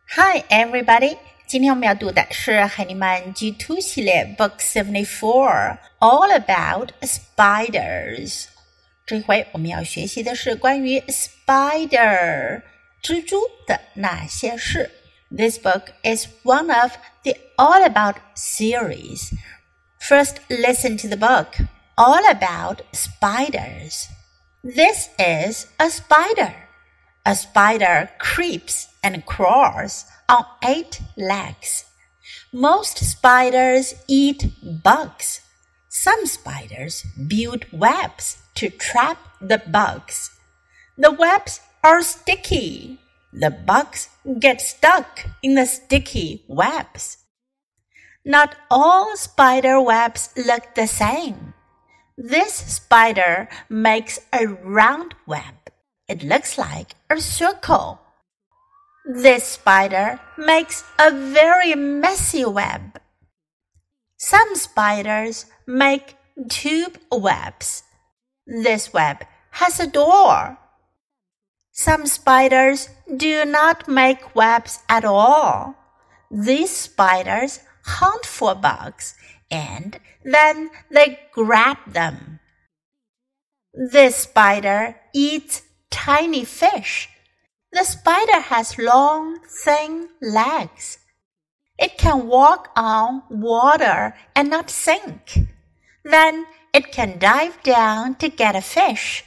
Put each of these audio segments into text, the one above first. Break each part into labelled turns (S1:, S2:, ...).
S1: Hi everybody! 今天我们要读的是海尼曼 G2 系列 Book 74 All About Spiders。 这回我们要学习的是关于 spider 蜘蛛的那些事。 This book is one of the All About series. First, listen to the book All About Spiders. This is a spider.A spider creeps and crawls on 8 legs. Most spiders eat bugs. Some spiders build webs to trap the bugs. The webs are sticky. The bugs get stuck in the sticky webs. Not all spider webs look the same. This spider makes a round web.It looks like a circle. This spider makes a very messy web. Some spiders make tube webs. This web has a door. Some spiders do not make webs at all. These spiders hunt for bugs and then they grab them. This spider eats.Tiny fish. The spider has long, thin legs. It can walk on water and not sink. Then it can dive down to get a fish.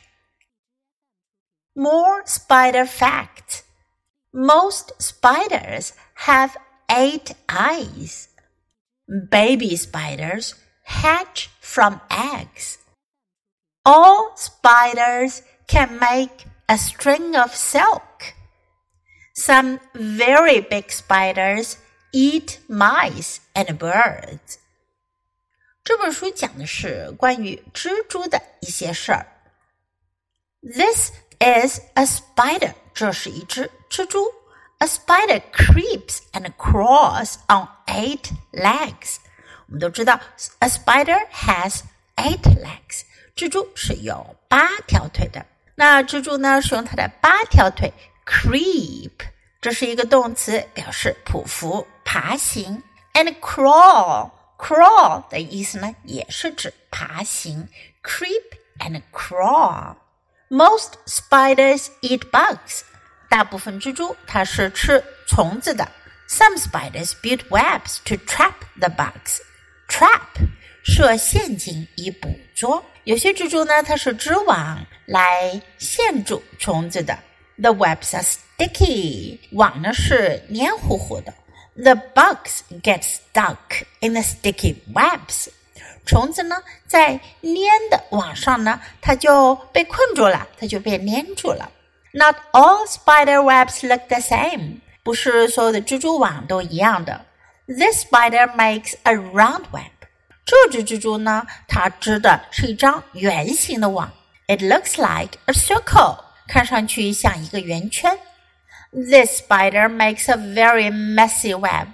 S1: More spider facts. Most spiders have 8 eyes. Baby spiders hatch from eggs. All spiders can make a string of silk. Some very big spiders eat mice and birds. 这本书讲的是关于蜘蛛的一些事儿。This is a spider. 这是一只蜘蛛。A spider creeps and crawls on 8 legs. 我们都知道 a spider has 8 legs. 蜘蛛是有8条腿的。那蜘蛛呢是用它的8条腿 creep， 这是一个动词，表示匍匐爬行。 and crawl 的意思呢也是指爬行 creep and crawl. Most spiders eat bugs. 大部分蜘蛛它是吃虫子的。 Some spiders build webs to trap the bugs. Trap 设陷阱以捕捉。有些蜘蛛呢它是织网来限住虫子的。 The webs are sticky. 网呢是黏糊糊的。 The bugs get stuck in the sticky webs. 虫子呢在粘的网上呢它就被困住了，它就被粘住了。 Not all spider webs look the same. 不是所有的蜘蛛网都一样的。 This spider makes a round web. 这只蜘蛛呢它织的是一张圆形的网。 It looks like a circle. 看上去像一个圆圈。 This spider makes a very messy web.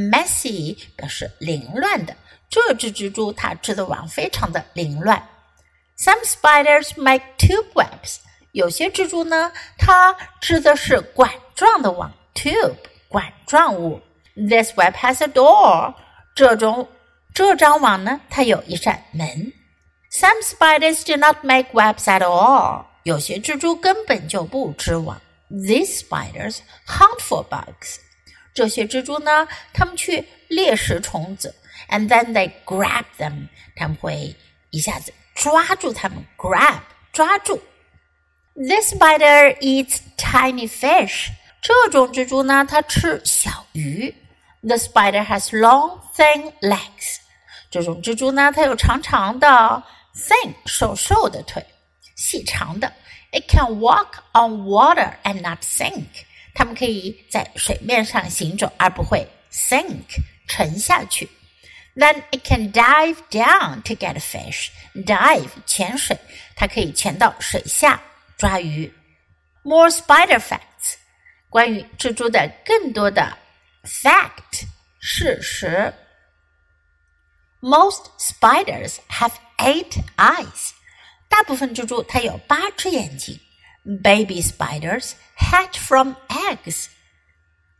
S1: Messy 表示凌乱的。这只蜘蛛它织的网非常的凌乱。 Some spiders make tube webs. 有些蜘蛛呢它织的是管状的网 tube 管状物。 This web has a door. 这张网呢它有一扇门。 Some spiders do not make webs at all. 有些蜘蛛根本就不织网。 These spiders hunt for bugs. 这些蜘蛛呢它们去猎食虫子。 And then they grab them. 它们会一下子抓住它们 grab 抓住。 This spider eats tiny fish. 这种蜘蛛呢它吃小鱼。 The spider has long, thin legs. 这种蜘蛛呢它有长长的 thin 瘦瘦的腿，细长的。 It can walk on water and not sink. 它们可以在水面上行走而不会 sink 沉下去。 Then it can dive down to get a fish. Dive 潜水，它可以潜到水下抓鱼。 More spider facts. 关于蜘蛛的更多的 fact 事实。 Most spiders have 8 eyes. 大部分蜘蛛它有8只眼睛。Baby spiders hatch from eggs.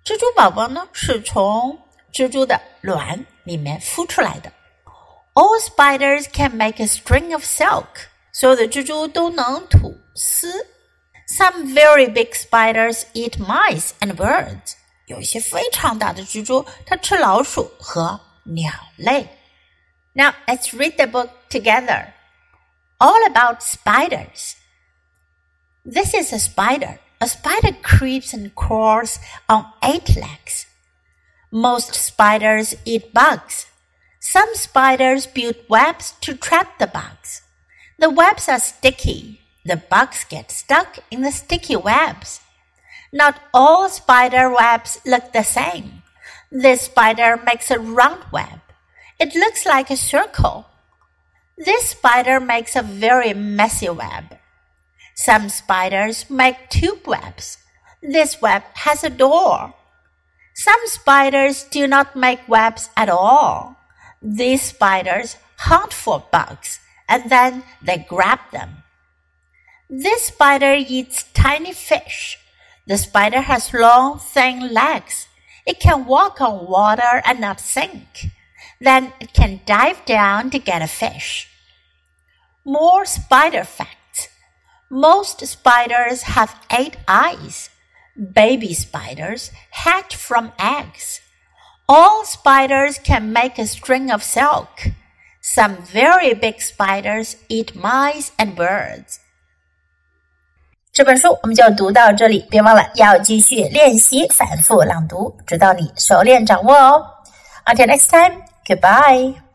S1: 蜘蛛宝宝呢，是从蜘蛛的卵里面孵出来的。All spiders can make a string of silk. 所有的蜘蛛都能吐丝。Some very big spiders eat mice and birds. 有一些非常大的蜘蛛，它吃老鼠和鸟类。Now let's read the book together. All about spiders. This is a spider. A spider creeps and crawls on 8 legs. Most spiders eat bugs. Some spiders build webs to trap the bugs. The webs are sticky. The bugs get stuck in the sticky webs. Not all spider webs look the same. This spider makes a round web. It looks like a circle. This spider makes a very messy web. Some spiders make tube webs. This web has a door. Some spiders do not make webs at all. These spiders hunt for bugs, and then they grab them. This spider eats tiny fish. The spider has long, thin legs. It can walk on water and not sink. Then it can dive down to get a fish. More spider facts. Most spiders have 8 eyes. Baby spiders hatch from eggs. All spiders can make a string of silk. Some very big spiders eat mice and birds. 这本书我们就读到这里，别忘了要继续练习反复朗读，直到你熟练掌握哦。Until next time, goodbye.